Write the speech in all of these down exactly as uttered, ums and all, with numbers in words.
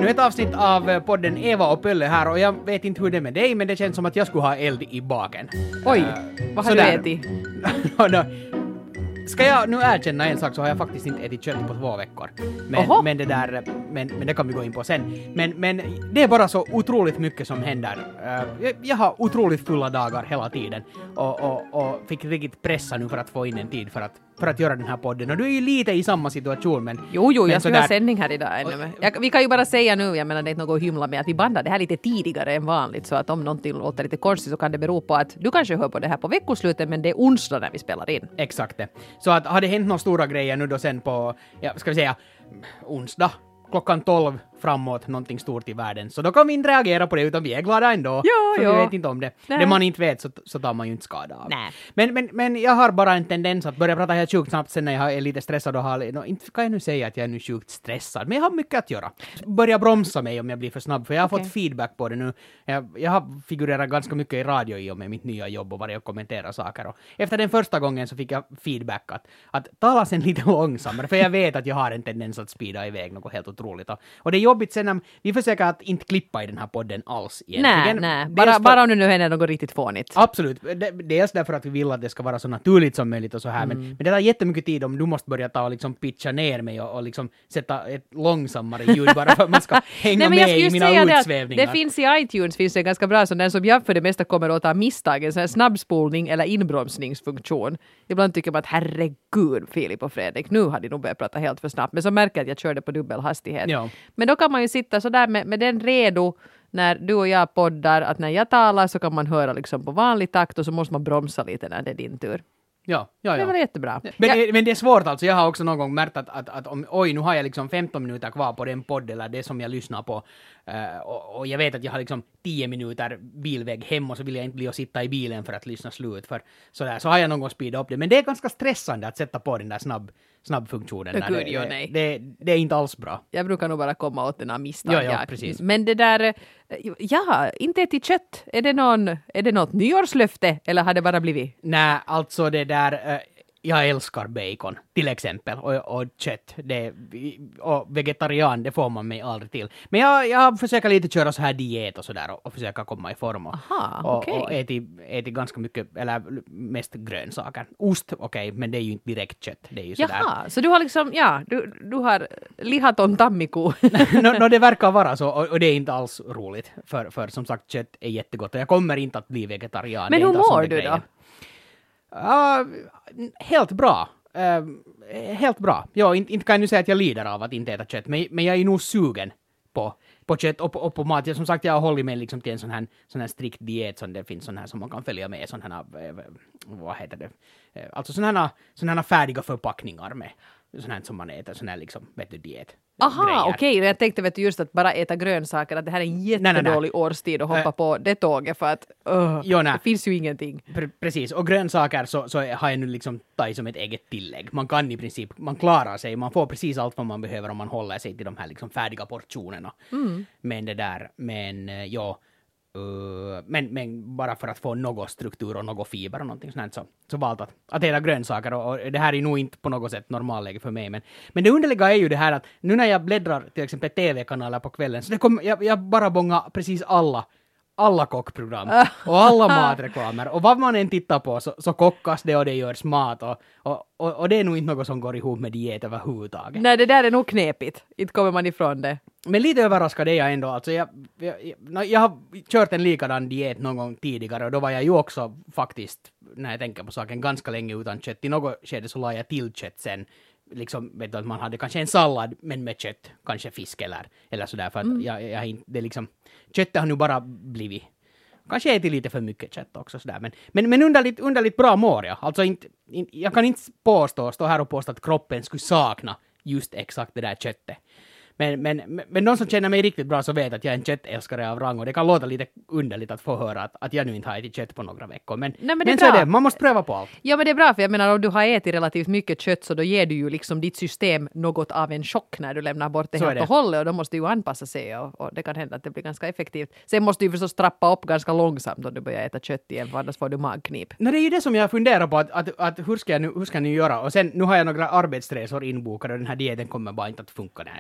ännu ett avsnitt av podden Eva och Pölle här och jag vet inte hur det är med dig, men det känns som att jag skulle ha eld i baken. Oj, uh, vad har du ätit? Ska jag nu erkänna en sak, så har jag faktiskt inte ätit kött på två veckor. Men, men det där, men, men det kan vi gå in på sen. Men, men det är bara så otroligt mycket som händer. Uh, jag, jag har otroligt fulla dagar hela tiden och, och, och fick riktigt pressa nu för att få in en tid för att, för att göra den här podden. Och du är ju lite i samma situation, men... Jo, jo, men jag ska ha sändning här idag ännu. Jag, vi kan ju bara säga nu, jag menar det är inte något att hymla med, att vi bandar det här lite tidigare än vanligt, så att om någonting låter lite konstigt så kan det bero på att du kanske hör på det här på veckoslutet, men det är onsdag när vi spelar in. Exakt det. Så att har det hänt några stora grejer nu då sen på, ja, ska vi säga, onsdag klockan tolv framåt någonting stort i världen, så då kan vi inte reagera på det, utan vi är glada ändå. Jo, för jo. vi vet inte om det. Nej. Det man inte vet så, så tar man ju inte skada av. Nej. Men, men, men jag har bara en tendens att börja prata helt sjukt snabbt sen när jag är lite stressad och har, no, inte kan jag nu säga att jag är nu sjukt stressad, men jag har mycket att göra. Börja bromsa mig om jag blir för snabb, för jag har Okay. fått feedback på det nu. Jag, jag har figurerat ganska mycket i radio i och med mitt nya jobb och varit och kommentera saker. Och efter den första gången så fick jag feedback att, att tala sen lite långsammare, för jag vet att jag har en tendens att speeda iväg något helt otroligt. Och, och det är jobbigt sen när vi försöker att inte klippa i den här podden alls egentligen. Nej, nej. Bara, för, bara om det nu händer något riktigt fånigt. Absolut. Det, dels därför att vi vill att det ska vara så naturligt som möjligt och så här. Mm. Men, men det tar jättemycket tid om du måste börja ta och liksom pitcha ner mig och, och liksom sätta ett långsammare ljud bara för att man ska hänga Nej, med i mina utsvävningar. Det, det finns i iTunes, finns det ganska bra, så den som jag för det mesta kommer åt av misstag, en sån här snabbspolning eller inbromsningsfunktion. Ibland tycker man att herregud, Filip och Fredrik, nu har de nog börjat prata helt för snabbt. Men så märker jag att jag körde på dubbel hastighet. Ja. Men då kan man ju sitta så där med, med den redo när du och jag poddar, att när jag talar så kan man höra liksom på vanlig takt och så måste man bromsa lite när det är din tur. Ja, ja, ja. Det var jättebra. Men, jag... men det är svårt alltså. Jag har också någon gång märkt att, att, att om, oj, nu har jag liksom femton minuter kvar på den podd eller det som jag lyssnar på. Uh, och, och jag vet att jag har liksom tio minuter bilväg hem och så vill jag inte bli och sitta i bilen för att lyssna slut. För sådär. Så har jag någon gång speedat upp det. Men det är ganska stressande att sätta på den där snabb, snabbfunktionen. Det, där. gud, Det, jo, nej. det, det är inte alls bra. Jag brukar nog bara komma åt den här misstag. Ja, ja, precis. Men det där, ja, inte ätit kött. Är det, någon, är det något nyårslöfte eller har det bara blivit? Nej, alltså det där... Uh, jag älskar bacon, till exempel, och, och kött. Det, och vegetarian, det får man mig aldrig till. Men jag, jag försöker lite köra så här diet och sådär och, och försöka komma i form. Och, Aha, och, okay. och ätit, ätit ganska mycket, eller mest grönsaker. Ost, okej, okay, men det är ju inte direkt kött. Det är ju sådär. Jaha, så du har liksom, ja, du, du har lihaton tammiko. no, no, det verkar vara så, och, och det är inte alls roligt. För, för som sagt, kött är jättegott och jag kommer inte att bli vegetarian. Men hur mår du då? Uh, helt bra. Uh, helt bra. Ja, inte, inte kan jag nu säga att jag lider av att inte äta kött, men, men jag är nog sugen på, på kött och på, och på mat. Jag, som sagt, jag har hållit mig liksom till en sån här, sån här strikt diet som det finns sån här som man kan följa med, sån här, vad heter det, alltså sån här, sån här färdiga förpackningar med sån här som man äter, sån här liksom, vet du, diet. Aha, okej. Okay. Jag tänkte vet du, just att bara äta grönsaker, att det här är en jättedålig nej, nej, nej. årstid att hoppa uh, på det tåget för att uh, jo, det finns ju ingenting. Pre- precis, och grönsaker så, så har jag nu liksom tagit som ett eget tillägg. Man kan i princip, man klarar sig, man får precis allt vad man behöver om man håller sig till de här liksom färdiga portionerna. Mm. Men det där, men ja, uh, men, men bara för att få någon struktur och någon fiber och någonting sånt så, så valt att, att äta grönsaker och, och det här är nog inte på något sätt normalläge för mig. Men, men det underliga är ju det här att nu när jag bläddrar till exempel tv-kanaler på kvällen så det kom, jag, jag bara bångar precis alla alla kockprogram och alla matreklamer och vad man än tittar på så, så kockas det och det görs mat och, och, och, och det är nog inte något som går ihop med diet överhuvudtaget. Nej, det där är nog knepigt. Inte kommer man ifrån det. Men lite överraskad är jag ändå. Alltså jag, jag, jag, jag har kört en likadan diet någon gång tidigare och då var jag ju också faktiskt, när jag tänker på saken, ganska länge utan kött. I något skede så la jag till kött sen. Liksom, vet du, att man hade kanske en sallad men med kött, kanske fisk eller, eller sådär. För att mm. jag, jag inte, det liksom, köttet har nu bara blivit, kanske ätit lite för mycket kött också sådär. Men, men, men underligt, underligt bra mår jag. Alltså inte, inte, jag kan inte påstå, stå här och påstå att kroppen skulle sakna just exakt det där köttet. Men, men, men de som känner mig riktigt bra så vet att jag är en köttälskare av rang och det kan låta lite underligt att få höra att, att jag nu inte har ätit kött på några veckor. Men, Nej, men, men så är det, man måste pröva på allt. Ja, men det är bra för jag menar om du har ätit relativt mycket kött så då ger du ju liksom ditt system något av en chock när du lämnar bort det så helt och hållet och då måste ju anpassa sig och, och det kan hända att det blir ganska effektivt. Sen måste du förstås trappa upp ganska långsamt om du börjar äta kött igen för annars får du magknip. No, det är ju det som jag funderar på att, att, att hur, ska jag nu, hur ska jag nu göra och sen nu har jag några arbetsresor inbokade och den här dieten kommer bara inte att funka när jag är på arbets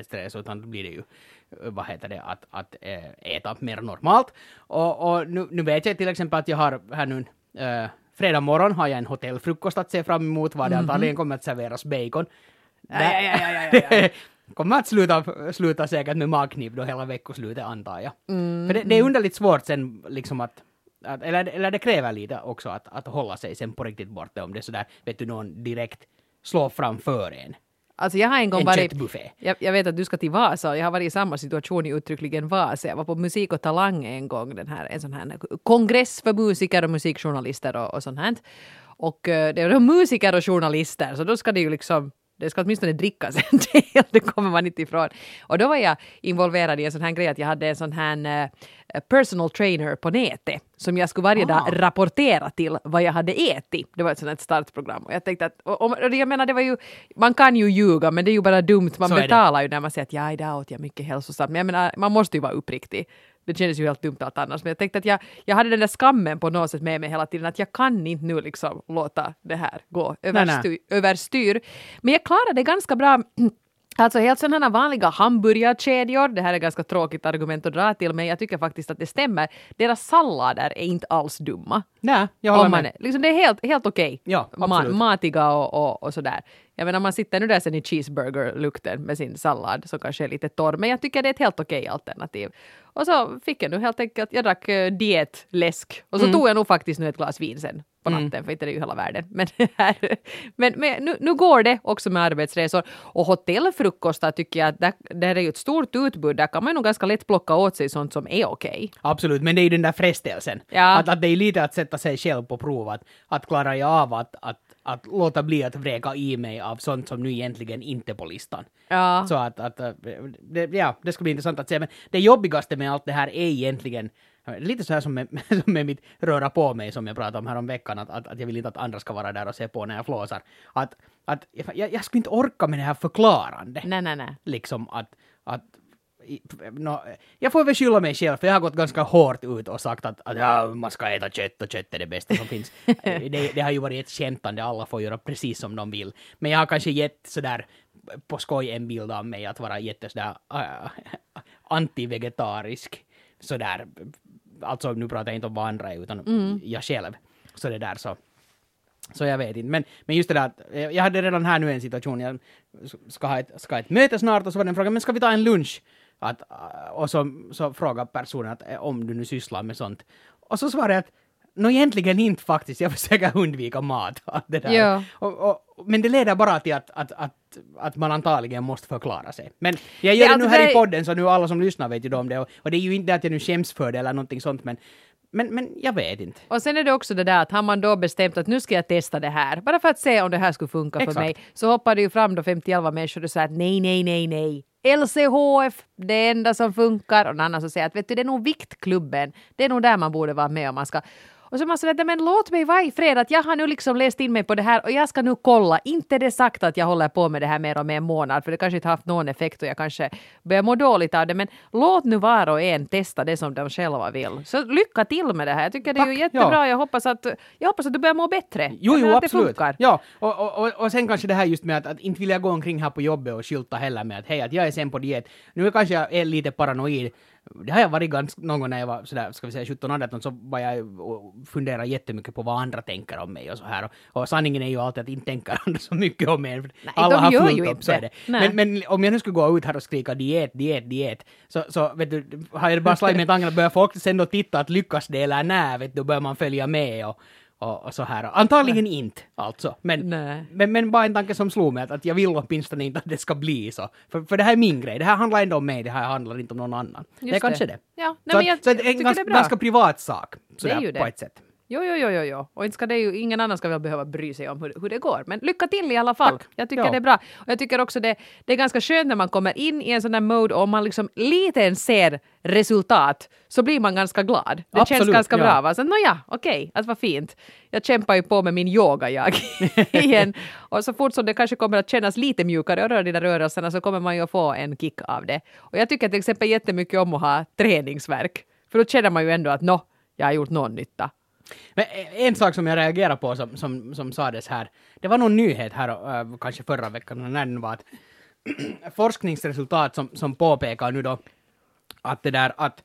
arbetsstress, utan då blir det ju vad heter det, att, att äh, äta mer normalt. Och, och nu, nu vet jag till exempel att jag har här nu äh, fredag morgon har jag en hotellfrukost att se fram emot, var det mm-hmm. antagligen kommer att serveras bacon. Ja, ja, ja, ja, ja. kommer att sluta, sluta säkert med magknip då hela veckoslutet, antar jag. Mm, För det, det är underligt svårt sen liksom att, att eller, eller det kräver lite också att, att hålla sig sen på riktigt borta om det sådär, vet du, någon direkt slår framför en. Alltså jag har en gång en varit, jag, jag vet att du ska till Vasa och jag har varit i samma situation i uttryckligen Vasa. Jag var på Musik och Talang en gång, den här, en sån här kongress för musiker och musikjournalister och, och sånt här. Och uh, det är musiker och journalister, så då ska det ju liksom, det ska åtminstone drickas en del, det kommer man inte ifrån. Och då var jag involverad i en sån här grej att jag hade en sån här uh, personal trainer på nätet som jag skulle varje ah. dag rapportera till vad jag hade ätit. Det var ett sånt här startprogram. Och jag tänkte att, och, och, och jag menar det var ju, man kan ju ljuga men det är ju bara dumt. Man så betalar ju när man säger att ja, idag åt jag mycket hälsosamt. Men jag menar, man måste ju vara uppriktig. Det kändes ju helt dumt allt annars. Men jag tänkte att jag, jag hade den där skammen på något sätt med mig hela tiden. Att jag kan inte nu liksom låta det här gå överstyr. överstyr. Men jag klarade det ganska bra. Alltså helt sådana vanliga hamburgarkedjor, det här är ganska tråkigt argument att dra till, men jag tycker faktiskt att det stämmer. Deras sallader är inte alls dumma. Nej, jag håller med. Är, liksom det är helt, helt okej. Okay. Ja, absolut. Ma- matiga och, och, och sådär. Jag menar, man sitter nu där sen i cheeseburger-lukten med sin sallad som kanske är lite torr, men jag tycker det är ett helt okej alternativ. Och så fick jag nu helt enkelt, jag drack uh, dietläsk och så mm. tog jag nog faktiskt nu ett glas vin sen på natten, mm. för inte det är ju hela världen. Men, här, men, men nu, nu går det också med arbetsresor. Och hotellfrukostar tycker jag att där, där är ju ett stort utbud. Där kan man nog ganska lätt plocka åt sig sånt som är okej. Absolut, men det är ju den där frestelsen. Ja. Att, att det är lite att sätta sig själv på prov. Att, att klara jag av att, att, att låta bli att vräka i mig av sånt som nu egentligen inte är på listan. Ja. Så att, att det, ja, det ska bli intressant att se. Men det jobbigaste med allt det här är egentligen lite så här som med, som med mitt röra på mig som jag pratade om här om veckan, att, att, att jag vill inte att andra ska vara där och se på när jag flåsar. Att, att jag, jag skulle inte orka med det här förklarande. Nej, nej, nej. Liksom att, att no, jag får väl skylla mig själv, för jag har gått ganska hårt ut och sagt att, att ja, man ska äta kött och kött är det bästa som finns. det, det har ju varit ett skämtande, alla får göra precis som de vill. Men jag har kanske gett sådär på skoj en bild av mig att vara jätte sådär uh, anti-vegetarisk. Sådär, alltså nu pratar jag inte om vad andra är, utan mm. jag själv. Så det där så. Så jag vet inte. Men, men just det där, att jag hade redan här nu en situation, jag ska ha ett, ska ha ett möte snart och så var det en fråga, men ska vi ta en lunch? Att, och så, så frågar personen att om du nu sysslar med sånt. Och så svarade jag att nå egentligen inte faktiskt, jag försöker undvika mat. Det där. Ja. Och, och, men det leder bara till att, att, att, att man antagligen måste förklara sig. Men jag gör det, det nu här det... i podden, så nu alla som lyssnar vet ju om det. Och, och det är ju inte att jag nu skäms för det eller någonting sånt, men Men, men jag vet inte. Och sen är det också det där att har man då bestämt att nu ska jag testa det här, bara för att se om det här skulle funka Exakt. för mig, så hoppar det ju fram då femtioelva människor och säger att nej, nej, nej, nej. L C H F, det enda som funkar. Och en annan som säger att vet du, det är nog viktklubben. Det är nog där man borde vara med om man ska... Och så man säger, men låt mig vara i fred att jag har nu liksom läst in mig på det här och jag ska nu kolla. Inte det sagt att jag håller på med det här mer och mer en månad, för det kanske inte haft någon effekt och jag kanske börjar må dåligt av det. Men låt nu var och en testa det som de själva vill. Så lycka till med det här. Jag tycker det är Tack, ju jättebra. Ja. Jag, hoppas att, jag hoppas att du börjar må bättre. Jo, jo, absolut. Ja, och, och, och, och sen kanske det här just med att, att inte vill jag gå omkring här på jobbet och skylta heller med att hej, att jag är sen på diet. Nu kanske jag är lite paranoid. Det har jag varit ganska någon gång när jag var sådär, ska vi säga sjutton arton, så var jag och funderade jättemycket på vad andra tänker om mig och så här. Och, och sanningen är ju alltid att inte tänker andra så mycket om mig. Nej, alla har fullt upp, så är det. Men, men om jag nu skulle gå ut här och skrika diet, diet, diet, så, så vet du, har jag bara slagit med tanken att börja folk sen då titta att lyckas det eller nej, vet du, börjar man följa med och Och, och så här. Antagligen Nej. inte, alltså. Men, men, men bara en tanke som slog mig, att, att jag vill åtminstone inte att det ska bli så. För, för det här är min grej. Det här handlar inte om mig, det här handlar inte om någon annan. Just det är kanske det. Ja. Nej, så, men jag, så det är en ganska, ganska privat sak. Sådär, det är ju det. På ett sätt. Jo, jo, jo, jo, jo. Och inte ska det ju, ingen annan ska väl behöva bry sig om hur, hur det går. Men lycka till i alla fall. Tack. Jag tycker ja. det är bra. Och jag tycker också det, det är ganska skönt när man kommer in i en sån där mode och man liksom lite än ser resultat, så blir man ganska glad. Det Absolut, känns ganska ja. bra. Va? Så nåja, okej, okay, att vad fint. Jag kämpar ju på med min yoga jag igen. Och så fort som det kanske kommer att kännas lite mjukare och röra dina rörelserna, så kommer man ju att få en kick av det. Och jag tycker till exempel jättemycket om att ha träningsverk. För då känner man ju ändå att nå, jag har gjort någon nytta. Men en sak som jag reagerar på som, som, som sades här, det var någon nyhet här, äh, kanske förra veckan, när den var att forskningsresultat som, som påpekar nu då att det där att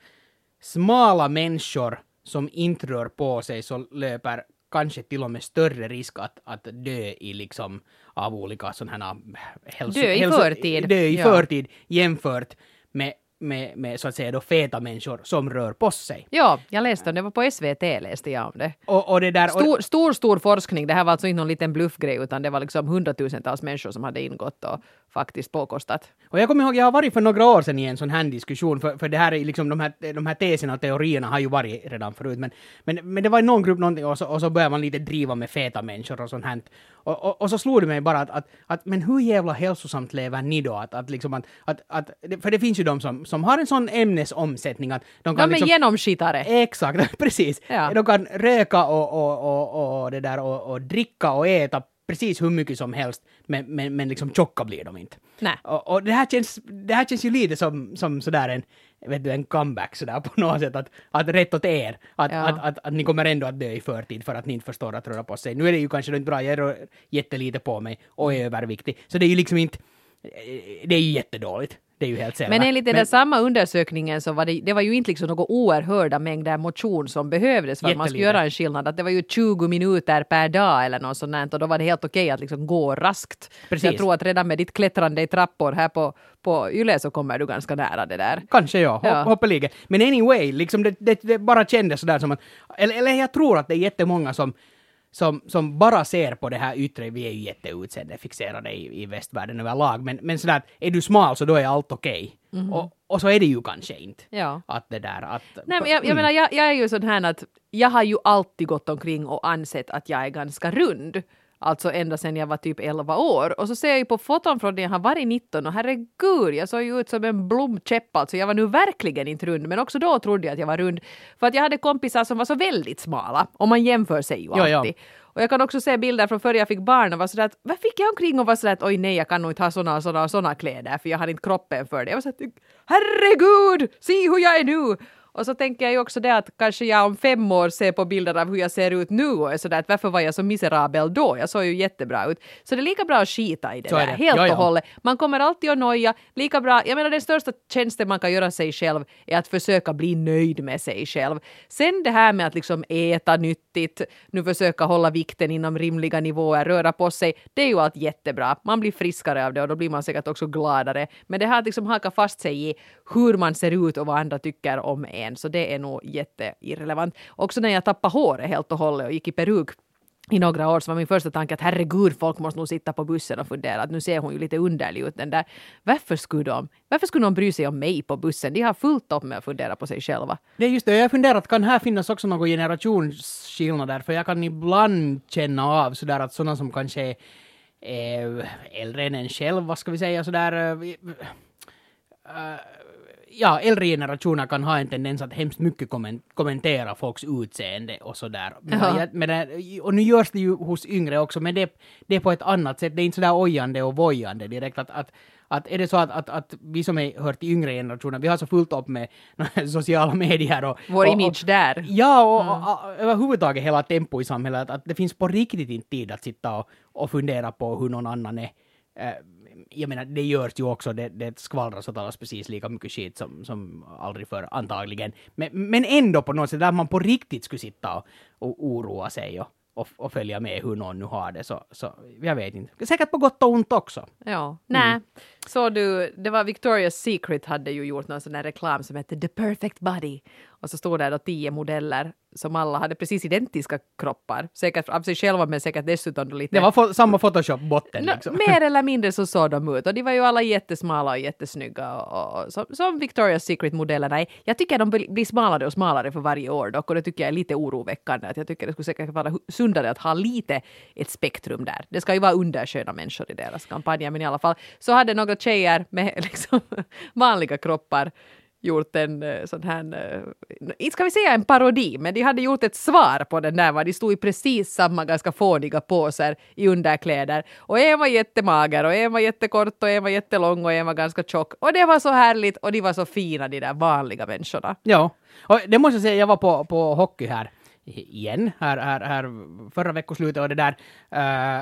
smala människor som inte rör på sig så löper kanske till och med större risk att, att dö i liksom av olika sådana här hälso... Dö i hälso, förtid. Dö i ja. förtid jämfört med, med, med så att säga då feta människor som rör på sig. Ja, jag läste om det. var på S V T läste jag om det. Och, och det där, stor, stor, stor forskning. Det här var alltså inte någon liten bluffgrej utan det var liksom hundratusentals människor som hade ingått och faktiskt påkostat. Och jag kommer ihåg, jag har varit för några år sedan i en sån här diskussion, för, för det här är liksom de här, de här teserna och teorierna har ju varit redan förut, men, men, men det var i någon grupp någonting och så, och så började man lite driva med feta människor och sånt här. Och, och, och så slog det mig bara att, att, att men hur jävla hälsosamt lever ni då? Att, att liksom att, att, att, för det finns ju de som, som har en sån ämnesomsättning att de kan de är liksom... genomskittare. Exakt, precis. Ja. De kan röka och, och, och, och, det där, och, och dricka och äta precis hur mycket som helst, men, men, men liksom tjocka blir de inte. Nej. Och, och det, här känns, det här känns ju lite som, som sådär en, vet du, en comeback sådär på något sätt, att, att rätt åt er, att, Ja. att, att, att ni kommer ändå att dö i förtid för att ni inte förstår att röra på sig. Nu är det ju kanske inte bra, jag rör jättelite på mig och är överviktig, så det är ju liksom inte, det är ju jättedåligt. Det är ju helt Men enligt den där samma undersökningen så var det, det var ju inte liksom några oerhörda mängder motion som behövdes för att man skulle göra en skillnad. Att det var ju tjugo minuter per dag eller något sånt och då var det helt okej att liksom gå raskt. Precis. Jag tror att redan med ditt klättrande i trappor här på, på Yle så kommer du ganska nära det där. Kanske ja, Ja. hoppeligen. Men anyway, liksom det, det, det bara kändes sådär som att, eller, eller jag tror att det är jättemånga som Som, som bara ser på det här yttre, vi är ju jätteutseendet-fixerade i, i västvärlden överlag, men, men sådär att är du smal så då är allt okej. Okay. Mm-hmm. Och, och så är det ju kanske inte. Ja. Att det där, att... Nej, men jag, jag mm. menar, jag, jag är ju sån här att jag har ju alltid gått omkring och ansett att jag är ganska rund. Alltså ända sedan jag var typ elva år. Och så ser jag ju på foton från när jag har varit nitton och herregud, jag såg ju ut som en blomkäpp. Alltså jag var nu verkligen inte rund, men också då trodde jag att jag var rund. För att jag hade kompisar som var så väldigt smala. Och man jämför sig ju alltid. Ja, ja. Och jag kan också se bilder från förr jag fick barn och var sådär att, vad fick jag omkring och var sådär att oj nej, jag kan nog inte ha såna och såna och såna kläder för jag har inte kroppen för det. Jag var sådär, herregud, se hur jag är nu! Och så tänker jag ju också det att kanske jag om fem år ser på bilder av hur jag ser ut nu och är sådär att varför var jag så miserabel då? Jag såg ju jättebra ut. Så det är lika bra att skita i det så där, det. helt ja, ja. och hållet. Man kommer alltid att noja, lika bra. Jag menar den största tjänsten man kan göra sig själv är att försöka bli nöjd med sig själv. Sen det här med att liksom äta nyttigt, nu försöka hålla vikten inom rimliga nivåer, röra på sig, det är ju allt jättebra. Man blir friskare av det och då blir man säkert också gladare. Men det här att liksom haka fast sig i hur man ser ut och vad andra tycker om en, så det är nog jätteirrelevant. Också när jag tappade håret helt och hållet och gick i peruk i några år så var min första tanke att herregud, folk måste nog sitta på bussen och fundera att nu ser hon ju lite underlig ut den där. Varför skulle de? Varför skulle någon bry sig om mig på bussen? De har fullt upp med att fundera på sig själva. Det är just det, jag har funderat, kan här finnas också några generationsskillnader? För jag kan ibland känna av sådär att sådana som kanske är eh, äldre än en själv, vad ska vi säga, sådär... Eh, eh, ja, äldre generationer kan ha en tendens att hemskt mycket kommentera folks utseende och sådär. Men, men, och nu görs det ju hos yngre också, men det, det är på ett annat sätt. Det är inte sådär ojande och vojande direkt. Att, att, att är det så att, att, att vi som är hört till yngre generationer, vi har så fullt upp med sociala medier och... Vår och, image och, där. Ja, och, mm. och, och överhuvudtaget hela tempo i samhället. Att, att det finns på riktigt inte tid att sitta och, och fundera på hur någon annan är. Uh, jag menar, det görs ju också, det, det skvallras och talas precis lika mycket skit som, som aldrig förr, antagligen. Men, men ändå på något sätt, där man på riktigt skulle sitta och, och oroa sig och, och, och följa med hur någon nu har det, så, så jag vet inte. Säkert på gott och ont också. Ja, nej. Mm. Så du, det var Victoria's Secret hade ju gjort någon sån här reklam som hette The Perfect Body. Och så stod där då tio modeller som alla hade precis identiska kroppar. Säkert av sig själva, men säkert dessutom lite... Det var fo- samma Photoshop-botten liksom. Mer eller mindre så såg de ut. Och de var ju alla jättesmala och jättesnygga. Och, och, som, som Victoria's Secret-modellerna är. Jag tycker de blir smalare och smalare för varje år dock. Och det tycker jag är lite oroväckande. Att jag tycker det skulle säkert vara sundare att ha lite ett spektrum där. Det ska ju vara undersköna människor i deras kampanjer. Men i alla fall så hade några tjejer med liksom vanliga kroppar gjort en sån här, inte ska vi säga en parodi, men de hade gjort ett svar på den där, var de stod i precis samma ganska fåniga påser i underkläder. Och en var jättemager och en var jättekort och en var jättelång och en var ganska tjock. Och det var så härligt och de var så fina, de där vanliga människorna. Ja, och det måste jag säga, jag var på, på hockey här igen, här, här, här förra veckoslutet och det där... Uh,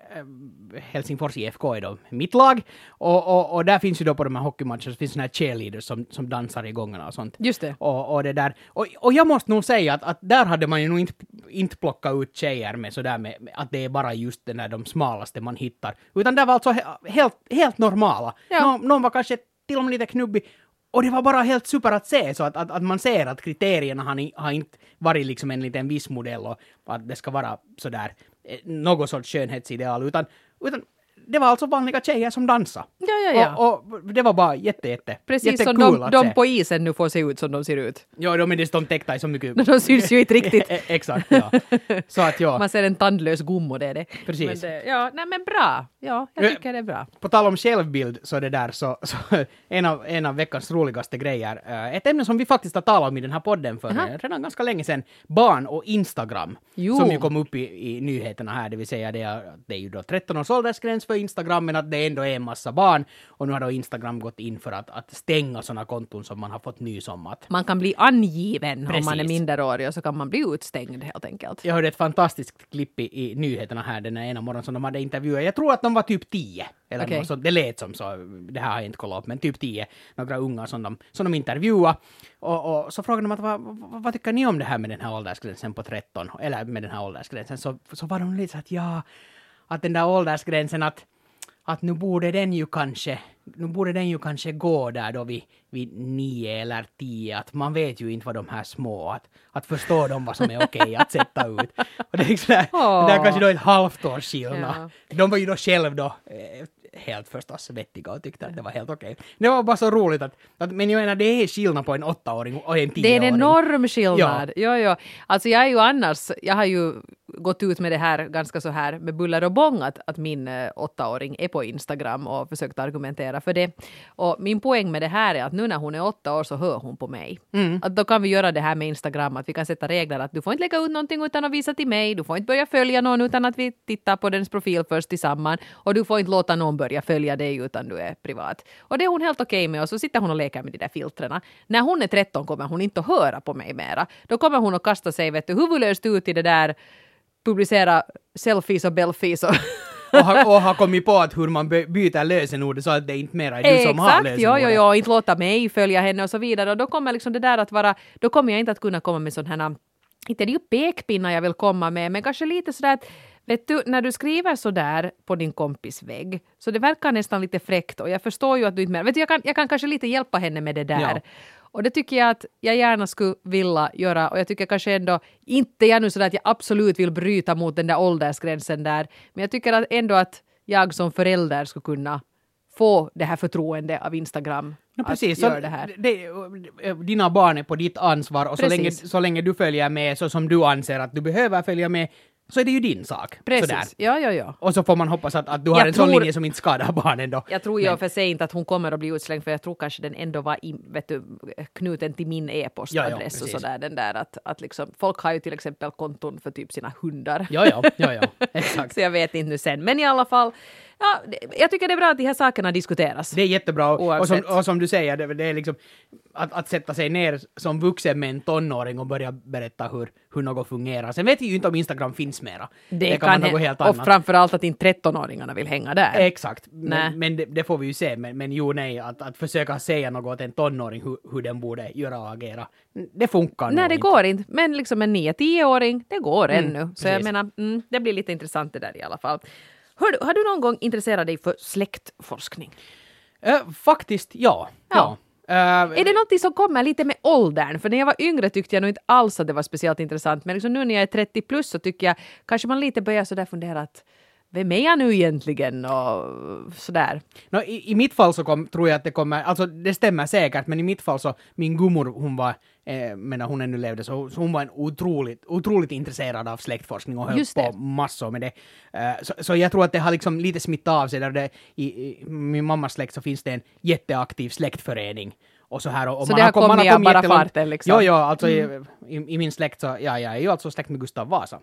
Helsingfors I F K är då mitt lag. Och, och, och där finns ju då på de här hockeymatcherna så finns såna här cheerleaders som, som dansar i gångarna och sånt. Just det. Och, och det där. Och, och jag måste nog säga att, att där hade man ju nog inte, inte plockat ut tjejer med sådär med, med att det är bara just den där de smalaste man hittar. Utan det var alltså he, helt, helt normala. Ja. Nå, någon var kanske till och med lite knubbig. Och det var bara helt super att se, så att, att, att man ser att kriterierna har, ni, har inte varit liksom en liten viss modell och att det ska vara sådär något sorts skönhetsideal, utan, utan det var alltså vanliga tjejer som dansade. Ja, ja, ja. Och, och det var bara jätte, jätte, precis som de, de på isen nu får se ut som de ser ut. Ja, de, de, de täckta i så mycket... De syns ju inte riktigt. Exakt, ja. Så att ja. Man ser en tandlös gommo, det är det. Precis. Men det, ja, nej men bra. Ja, jag tycker det är bra. På tal om självbild så det där så, så en, av, en av veckans roligaste grejer, uh, ett ämne som vi faktiskt har talat om i den här podden för uh-huh. redan ganska länge sedan, barn och Instagram, jo. Som ju kom upp i, i nyheterna här, det vill säga det är, det är ju då tretton års åldersgräns för Instagram, men att det ändå är en massa barn, och nu har då Instagram gått in för att, att stänga sådana konton som man har fått nys om att... Man kan bli angiven. Precis. Om man är minderårig, och så kan man bli utstängd helt enkelt. Jag hörde ett fantastiskt klipp i, i nyheterna här den ena morgonen som de hade intervjuat. Jag tror att de var typ tio. Eller okay. så, det lät som så, det här har jag inte kollat upp, men typ tio, några unga som de, som de intervjuade. Och, och så frågade de att vad, vad, vad tycker ni om det här med den här åldersgränsen på tretton? Eller med den här åldersgränsen. Så, så var de lite så att ja, att den där åldersgränsen att att nu borde den ju kanske, nu borde den ju kanske gå där då vid, vid nio eller tio, att man vet ju inte vad de här små, att, att förstå dem vad som är okej att sätta ut. Och det är liksom, oh. det är kanske då ett halvt år skillnad. Ja. De var ju då själv då eh, helt förstås vettiga och tyckte att det var helt okej. Det var bara så roligt att, att men jag menar det är skillnad på en åttaåring och en tioåring. Det är en enorm skillnad. Ja. Jo, jo. Alltså jag är ju annars, jag har ju gått ut med det här ganska så här med buller och bång att, att min äh, åttaåring är på Instagram och försökt argumentera för det. Och min poäng med det här är att nu när hon är åtta år så hör hon på mig. Mm. Att då kan vi göra det här med Instagram, att vi kan sätta regler att du får inte lägga ut någonting utan att visa till mig, du får inte börja följa någon utan att vi tittar på dens profil först tillsammans, och du får inte låta någon börja följa dig utan du är privat. Och det är hon helt okej okay med, och så sitter hon och leker med de där filtrerna. När hon är tretton kommer hon inte att höra på mig mera. Då kommer hon att kasta sig, vet du, huvudlöst ut i det där, publicera selfies och belfies och och, har, och har kommit på att hur man byter lösenord så att det inte mer är du som har lösenordet. Exakt, jo, jo, jo, inte låta mig följa henne och så vidare. Och då kommer liksom det där att vara, då kommer jag inte att kunna komma med sådana här, inte det är ju pekpinnar jag vill komma med, men kanske lite sådär att, vet du, när du skriver sådär på din kompis vägg, så det verkar nästan lite fräckt, och jag förstår ju att du inte mer, vet du, jag kan, jag kan kanske lite hjälpa henne med det där. Ja. Och det tycker jag att jag gärna skulle vilja göra, och jag tycker kanske ändå, inte jag nu sådär att jag absolut vill bryta mot den där åldersgränsen där, men jag tycker att ändå att jag som förälder skulle kunna få det här förtroende av Instagram. Ja, precis. Så det här. Det, dina barn är på ditt ansvar, och så länge, så länge du följer med så som du anser att du behöver följa med, så är det ju din sak. Precis, sådär. ja, ja, ja. Och så får man hoppas att, att du har jag en tror, sån linje som inte skadar barnen då. Jag tror ju för sig inte att hon kommer att bli utslängd, för jag tror kanske den ändå var i, vet du, knuten till min e-postadress ja, ja, och sådär. Den där att, att liksom, folk har ju till exempel konton för typ sina hundar. Ja, ja, ja, ja. Exakt. Så jag vet inte nu sen. Men i alla fall, ja, jag tycker det är bra att de här sakerna diskuteras. Det är jättebra. Och som, och som du säger, det, det är liksom att, att sätta sig ner som vuxen med en tonåring och börja berätta hur, hur något fungerar. Sen vet vi ju inte om Instagram finns mera. Det, det kan, kan något helt annat. Och framförallt att inte tretton-åringarna vill hänga där. Exakt. Men, men det, det får vi ju se. Men, men jo, nej, att, att försöka säga något åt en tonåring hur, hur den borde göra och agera. Det funkar Nej, det inte. går inte. Men liksom en nio-tioåring, det går Mm, ännu. Så precis. jag menar, mm, det blir lite intressant det där i alla fall. Hör du, har du någon gång intresserat dig för släktforskning? Uh, faktiskt, ja. Ja. ja. Uh, är det något som kommer lite med åldern? För när jag var yngre tyckte jag nog inte alls att det var speciellt intressant. Men liksom nu när jag är trettio plus så tycker jag kanske man lite börjar sådär fundera att vem är jag nu egentligen och sådär. No, i, I mitt fall så kom, tror jag att det kommer, alltså det stämmer säkert, men i mitt fall så min gummor, hon var, eh, men när hon ännu levde så, så hon var en otroligt, otroligt intresserad av släktforskning och höll på massor med det. Uh, så, så jag tror att det har liksom lite smittat av sig där det, i, i min mammas släkt så finns det en jätteaktiv släktförening. Och så här, och, och så man det har kommit, kommit bara jättelångt. farten liksom? Jo, jo, alltså mm. i, i, i min släkt så, ja, jag är ju alltså släkt med Gustav Vasa.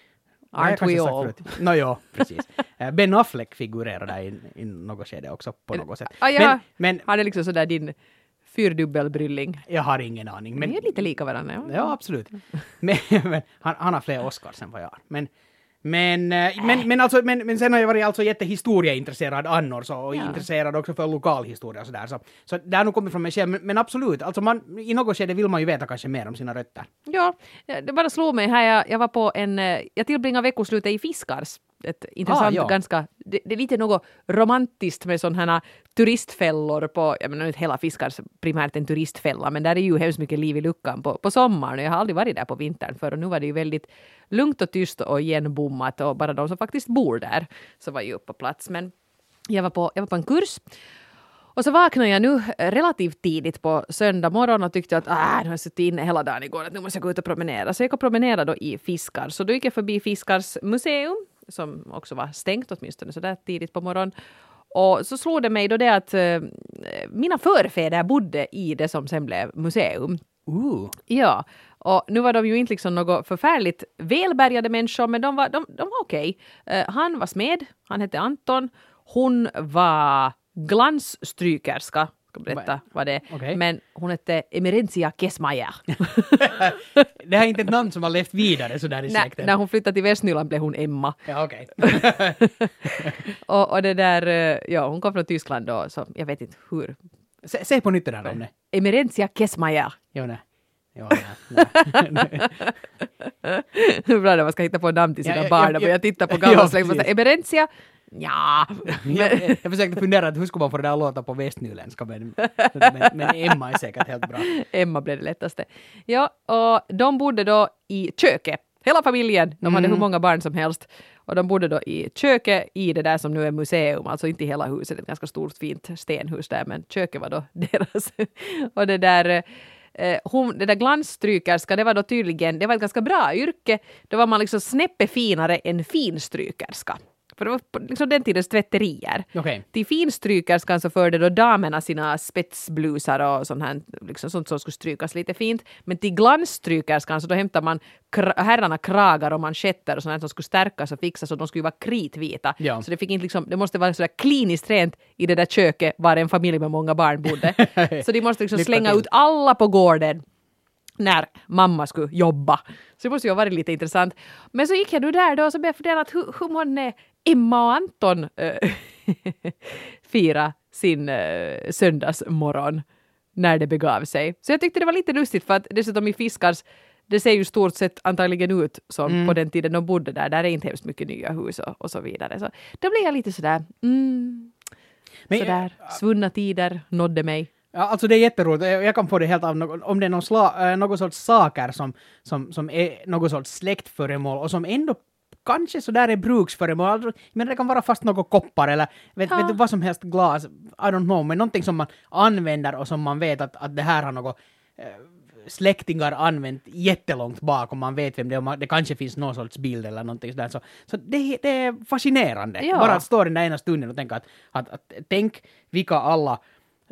Aren't we all? No, jo, precis. Ben Affleck figurerar där i, i något skede också på något sätt. Ah, ja. men, men, har det liksom sådär din fyrdubbelbrylling? Jag har ingen aning. Men, vi är lite lika varandra. Ja, ja absolut. men, men han, han har fler Oscars än vad jag har. Men, Men, men, men, alltså, men, men sen har jag varit alltså jättehistorieintresserad annars och ja. intresserad också för lokalhistoria och sådär. Så, så det har nog kommit från mig själv. Men, men absolut, alltså man, i något skede vill man ju veta kanske mer om sina rötter. Ja, det bara slog mig här. Jag, jag var på en, jag tillbringade veckoslutet i Fiskars. Ett intressant, ah, ja. ganska, det, det är lite något romantiskt med sådana här turistfällor på, jag menar inte hela Fiskars primärt en turistfälla, men där är ju hemskt mycket liv i luckan på, på sommaren och jag har aldrig varit där på vintern för och nu var det ju väldigt lugnt och tyst och igenbommat och bara de som faktiskt bor där så var ju upp på plats. Men jag var på, jag var på en kurs och så vaknade jag nu relativt tidigt på söndag morgon och tyckte att ah, nu har jag suttit inne hela dagen igår, att nu måste jag gå ut och promenera. Så jag gick och promenera då i Fiskars. Så då gick jag förbi Fiskars museum som också var stängt åtminstone så där tidigt på morgon. Och så slog det mig då det att uh, mina förfäder bodde i det som sen blev museum. Uh. Ja, och nu var de ju inte liksom något förfärligt välbärgade människor, men de var, de, de var okej. Uh, han var smed, han hette Anton. Hon var glansstrykerska. Ska berätta vad det är. Okay. Men hon hette Emerentia Kesmajer. Det är inte ett namn som har levt vidare så där i släkten. När hon flyttade till Västnyland blev hon Emma. Ja, okej. Okay. och, och det där, ja, hon kom från Tyskland då, så jag vet inte hur. Se, se på nytt det där om det. Emerentia Kesmajer. Jo, nej. Jo, nej. Det är bra när man ska hitta på namn till sina ja, barn och börja titta på gamla släkt och säga Emerentia. Ja. jag, jag försökte fundera att hur ska man få det där låta på västnyländska men, men, men Emma är säkert helt bra. Emma blev det lättaste. Ja, och de bodde då i köket. Hela familjen, de hade mm. hur många barn som helst. Och de bodde då i köket i det där som nu är museum. Alltså inte hela huset, ett ganska stort fint stenhus där. Men köket var då deras. och det där... Hon, det där glansstrykerska, det var då tydligen, det var ett ganska bra yrke. Då var man liksom snäppe finare än finstrykerska. För det var liksom den tidens tvätterier. Okay. Till finstrykerskan så förde då damerna sina spetsblusar och sånt här, liksom sånt som skulle strykas lite fint. Men till glansstrykerskan så då hämtar man kra- herrarna kragar och manschetter och sånt här som skulle stärkas och fixas och de skulle vara kritvita. Ja. Så det fick inte liksom, det måste vara sådär kliniskt rent i det där köket var en familj med många barn bodde. Så de måste liksom slänga ut alla på gården när mamma skulle jobba. Så det måste ju ha varit lite intressant. Men så gick jag då där då och så började jag fundera att hur, hur månne Emma och Anton äh, fira sin äh, söndagsmorgon när det begav sig. Så jag tyckte det var lite lustigt för att dessutom i Fiskars det ser ju stort sett antagligen ut som mm. på den tiden de bodde där. Där är inte hemskt mycket nya hus och, och så vidare. Så då blev jag lite sådär mm, Men, sådär äh, svunna tider nådde mig. Ja, alltså det är jätteroligt. Jag kan få det helt av något, om det är någon, sla, någon sorts saker som, som, som är någon sorts släktföremål och som ändå kanske så där är bruksföremål. Men det kan vara fast något koppar eller vet, ja. vet du vad som helst glas. I don't know. Men någonting som man använder och som man vet att, att det här har något äh, släktingar använt jättelångt bak och man vet vem det är. Det kanske finns någon sorts bild eller någonting sådär. Så, så det, det är fascinerande. Ja. Bara att stå den där ena stunden och tänka att, att, att tänk vilka alla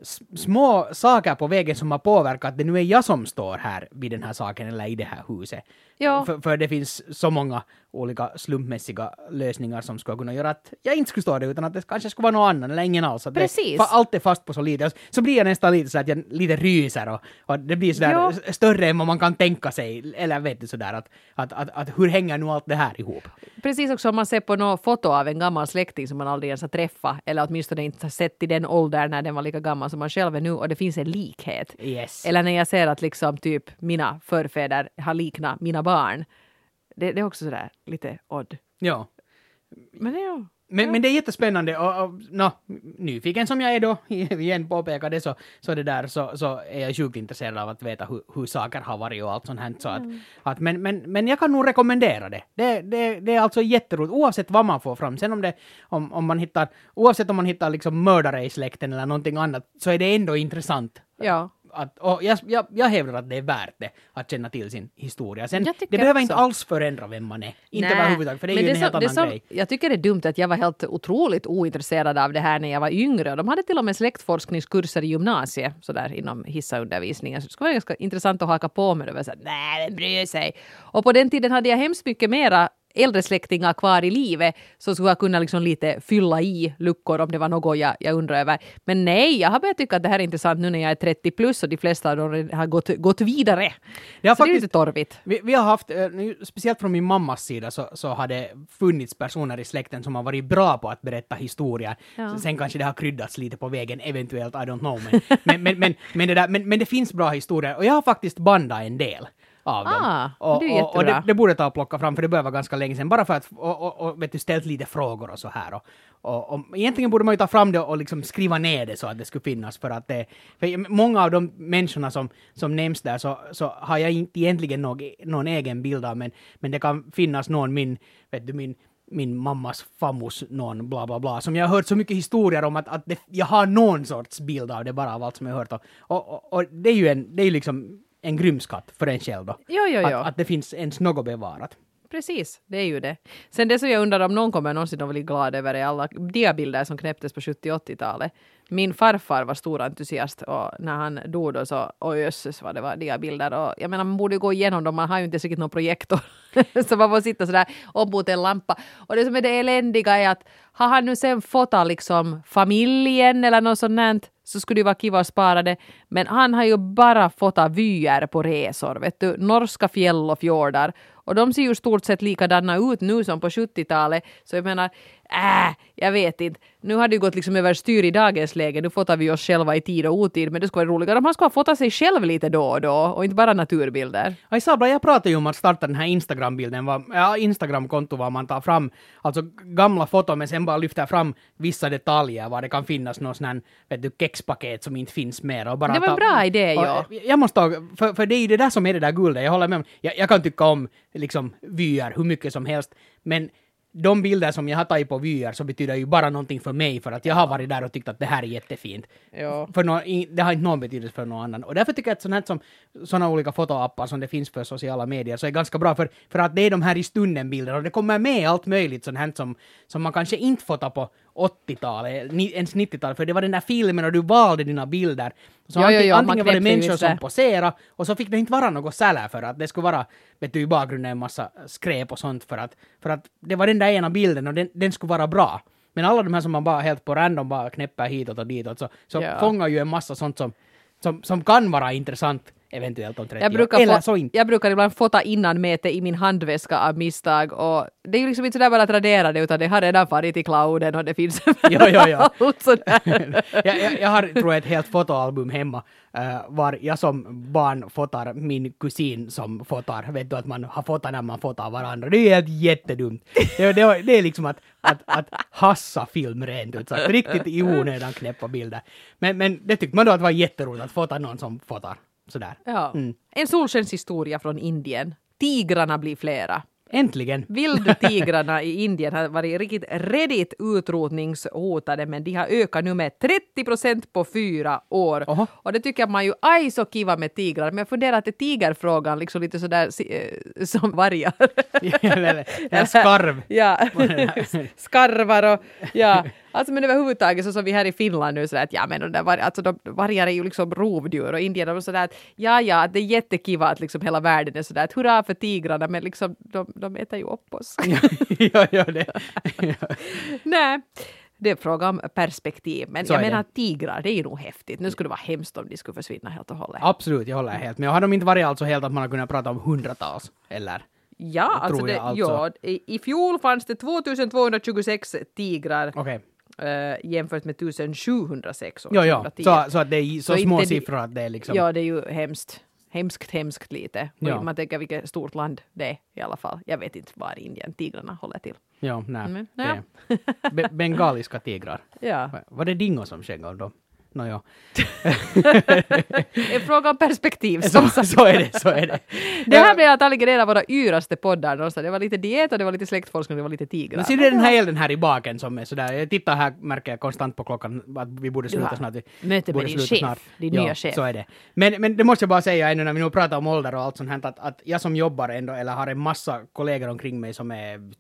små saker på vägen som har påverkat att det nu är jag som står här vid den här saken eller i det här huset. Ja. För, för det finns så många olika slumpmässiga lösningar som skulle kunna göra att jag inte skulle stå där utan att det kanske skulle vara någon annan eller ingen alls. Att Precis. Det, allt är fast på så lite. Så blir jag nästan lite så att jag lite ryser och, och det blir sådär ja. större än vad man kan tänka sig. Eller vet du sådär att, att, att, att hur hänger nu allt det här ihop? Precis också om man ser på något foto av en gammal släkting som man aldrig ens har träffat eller åtminstone inte har sett i den åldern när den var lika gammal som man själv är nu och det finns en likhet. Yes. Eller när jag ser att liksom typ mina förfäder har liknat mina barn. Det, det är också sådär lite odd. Ja. Men det, ja. Men, ja. men det är jättespännande och, och no, nyfiken som jag är då, igen påpekar det så, så det där så, så är jag sjukt intresserad av att veta hur, hur saker har varit och allt sånt här. Så att, mm. att, men, men, men jag kan nog rekommendera det. Det, det. det är alltså jätteroligt oavsett vad man får fram. Sen om, det, om, om man hittar, oavsett om man hittar liksom mördare i släkten eller någonting annat så är det ändå intressant. Ja. Att, och jag, jag, jag hävdar att det är värt det att känna till sin historia. Sen, det behöver också inte alls förändra vem man är. Inte överhuvudtaget, för det är men ju det en helt som, annan som, grej. Jag tycker det är dumt att jag var helt otroligt ointresserad av det här när jag var yngre. De hade till och med släktforskningskurser i gymnasiet så där inom hissaundervisningen. Så det skulle vara ganska intressant att haka på med det. Och säga, nej, den bryr sig. Och på den tiden hade jag hemskt mycket mera äldre släktingar kvar i livet så skulle jag kunna liksom lite fylla i luckor om det var något jag, jag undrar över. Men nej, jag har börjat tycka att det här är intressant nu när jag är trettio plus och de flesta av dem har gått, gått vidare. Det, har så faktiskt, det är lite torvigt. Vi, vi har haft, speciellt från min mammas sida så, så har det funnits personer i släkten som har varit bra på att berätta historier. Ja. Sen kanske det har kryddats lite på vägen, eventuellt, I don't know. Men, men, men, men, men, det där, men, men det finns bra historier och jag har faktiskt bandat en del av dem. Ah, och, det är och, och det, det borde ta och plocka fram, för det börjar vara ganska länge sedan, bara för att och, och, och, vet du, ställt lite frågor och så här. Och, och, och egentligen borde man ju ta fram det och liksom skriva ner det så att det skulle finnas, för att det, för många av de människorna som, som nämns där så, så har jag inte egentligen någon, någon egen bild av, men, men det kan finnas någon, min, vet du, min min mammas famus, någon bla bla bla, som jag har hört så mycket historier om att, att det, jag har någon sorts bild av det bara av allt som jag har hört. Och, och, och det är ju en, det är liksom en grym skatt för en själv då. Jo, jo, jo. Att, att det finns ens något bevarat. Precis, det är ju det. Sen det som jag undrar om någon kommer någonsin att bli glad över är alla diabilder som knäpptes på sjuttio- och åttiotalet. Min farfar var stor entusiast och när han dog då så, oj jösses vad det var diabilder. Och jag menar, man borde ju gå igenom dem, man har ju inte säkert någon projektor. Så man får sitta sådär upp mot en lampa. Och det som är det eländiga är att har han nu sen fotat liksom familjen eller något sånt här, så skulle det vara kiva att spara det. Men han har ju bara fotat vyer på resor, vet du, norska fjäll och fjordar. Och de ser ju stort sett likadana ut nu som på sjuttiotalet. Så jag menar, äh, jag vet inte. Nu har det ju gått liksom över styr i dagens läge. Nu fotar vi oss själva i tid och otid. Men det skulle vara roligare om man skulle fota sig själv lite då och då. Och inte bara naturbilder. Ja, Isabla, jag pratade ju om att starta den här Instagram-bilden. Var, ja, Instagram-konto var man tar fram alltså gamla foton, men sen bara lyfter fram vissa detaljer. Var det kan finnas någon sån här, vet du, kexpaket som inte finns mer. Och bara det var en ta, bra idé, ja. Jag måste ta, för, för det är ju det där som är det där guldet. Jag håller med om. Jag, jag kan tycka om liksom vyer hur mycket som helst. Men de bilder som jag har tagit på vyer så betyder ju bara någonting för mig, för att jag har varit där och tyckt att det här är jättefint. Ja. För no, det har inte någon betydelse för någon annan. Och därför tycker jag att sådana här som såna olika fotoappar som det finns för sociala medier så är ganska bra, för, för att det är de här i stunden bilder och det kommer med allt möjligt sånt här som, som man kanske inte fotar på åttiotalet, ens nittiotalet, för det var den där filmen och du valde dina bilder. Så jo, antingen, jo, jo, antingen var det människor det. som poserade och så fick det inte vara något sälär för att det skulle vara, vet du, i bakgrunden en massa skräp och sånt, för att, för att det var den där ena bilden och den, den skulle vara bra. Men alla de här som man bara helt på random bara knäpper hitåt och ditåt så, så ja. fångar ju en massa sånt som, som, som kan vara intressant eventuellt om trettio jag brukar år. Eller få, så inte. Jag brukar ibland fota innan mäte i min handväska av misstag och det är ju liksom inte sådär bara att radera det, utan det har redan farit i clouden och det finns jo, jo, jo. allt sådär. jag, jag, jag har, tror jag, ett helt fotoalbum hemma uh, var jag som barn fotar min kusin som fotar. Vet du att man har fotat när man fotar varandra. Det är helt jättedumt. Det, det, det är liksom att, att, att hassa film rent ut. Så att riktigt i onödan knäppa bilder. Men, men det tyckte man då att det var jätteroligt att fota någon som fotar. Sådär. Ja. Mm. En solskenshistoria från Indien. Tigrarna blir flera. Äntligen. Vildtigrarna i Indien har varit riktigt redigt utrotningshotade, men de har ökat nu med trettio procent på fyra år. Oho. Och det tycker man ju aj så kiva med tigrar. Men jag funderar att det är tigerfrågan liksom lite sådär äh, som vargar. En skarv. Ja, skarvar och ja. Alltså men överhuvudtaget så som vi här i Finland nu sådär att ja men de där var, alltså de vargar är ju liksom rovdjur och Indien är sådär att ja ja det är jättekiva att liksom hela världen är sådär att hurra för tigrarna, men liksom de, de äter ju upp oss. ja, ja, det. Nej. Det är fråga om perspektiv. Men så jag menar det. Att tigrar, det är ju nog häftigt. Nu skulle det vara hemskt om de skulle försvinna helt och hållet. Absolut, jag håller helt. Men har de inte varit alltså helt att man har kunnat prata om hundratals? Eller? Ja, alltså, det, alltså. Ja, i, i fjol fanns det tvåtusentvåhundratjugosex tigrar. Okej. Okay. Uh, jämfört med tjugosjuhundrasex. Ja, ja. Så, så att det är så, så små inte, siffror att det är liksom... Ja, det är ju hemskt. Hemskt, hemskt lite. Ja. Man tänker vilket stort land det är i alla fall. Jag vet inte var i Indien tigrarna håller till. Ja, nej. Mm, ja. Be- bengaliska tigrar. Ja. Var det dingo som sjöng om dem? No, ja. En fråga om perspektiv. Så, så är det, så är det. Det här blev att alligerera våra yraste poddar. Det var lite diet och det var lite släktforskning och det var lite tigrar. Men ser du den här elden här i baken som är sådär? Jag tittar här, märker jag konstant på klockan att vi borde sluta snart. Möte med din chef, snart. din ja, nya chef. Så är det. Men, men det måste jag bara säga ännu när vi nu pratar om ålder och allt sånt här, att, att jag som jobbar ändå, eller har en massa kollegor omkring mig som är typ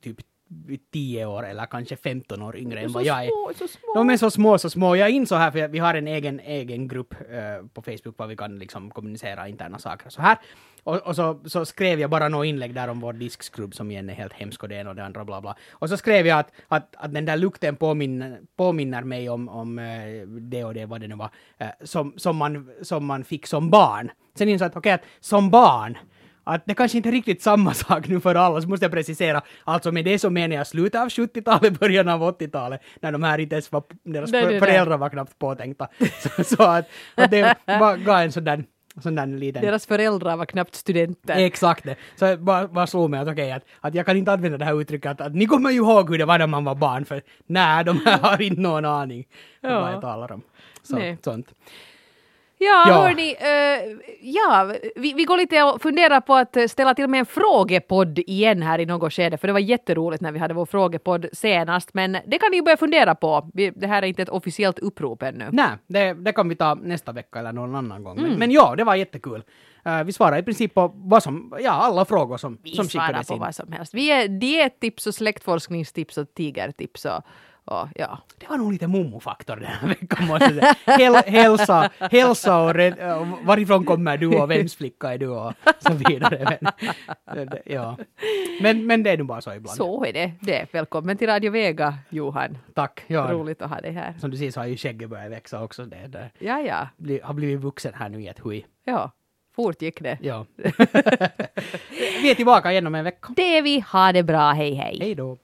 tio år eller kanske femton år yngre än Så vad jag är. små, så små. De är så små, så små. Jag insåg här, för vi har en egen, egen grupp uh, på Facebook där vi kan liksom kommunicera interna saker så här. Och, och så, så skrev jag bara några inlägg där om vår diskskrubb som igen är helt hemsk och det ena och det andra bla bla. Och så skrev jag att, att, att den där lukten påminner, påminner mig om, om uh, det och det, vad det nu var, uh, som, som, man, som man fick som barn. Sen insåg jag att okej, okay, att som barn att det kanske inte är riktigt samma sak nu för alla, så måste jag precisera. Alltså med det så menar jag slutet av sjuttiotalet, början av åttiotalet, när de här inte ens var, deras nej, nej, föräldrar nej. var knappt påtänkta. Så, så att, att det var, gav en sån där, sån där liten... Deras föräldrar var knappt studenter. Exakt det. Så jag bara, bara slog mig att okej, okay, att, att jag kan inte använda det här uttrycket att, att ni kommer ju ihåg hur det var när man var barn, för nej, de här har inte någon aning om Ja. vad jag talar om. Så, Nej. sånt. Ja, Ja. hörni, uh, ja, vi, vi går lite och funderar på att ställa till med en frågepodd igen här i något skede, för det var jätteroligt när vi hade vår frågepodd senast, men det kan ni ju börja fundera på. Vi, det här är inte ett officiellt upprop ännu. Nej, det, det kan vi ta nästa vecka eller någon annan gång. Mm. Men, men ja, det var jättekul. Uh, vi svarar i princip på vad som, ja, alla frågor som, Vi som svarar skickades på in. vad som helst. Vi är diettips och släktforskningstips och tigertips och, och ja. Det var nog lite momofaktor den här veckan, måste jag säga. Häl, hälsa, hälsa och red, uh, varifrån kommer du och vems flicka är du och så vidare. Men, det, ja. men, men det är nu bara så ibland. Så är det. det. Välkommen till Radio Vega, Johan. Tack. Ja. Roligt att ha dig här. Som du ser så har ju skägget börjat växa också. Det, det Ja, ja. bli, har blivit vuxen här nu i ett hui. Ja, fort gick det. Ja. Vi är tillbaka igen om en vecka. Det är vi. Ha det bra. Hej, hej. Hej då.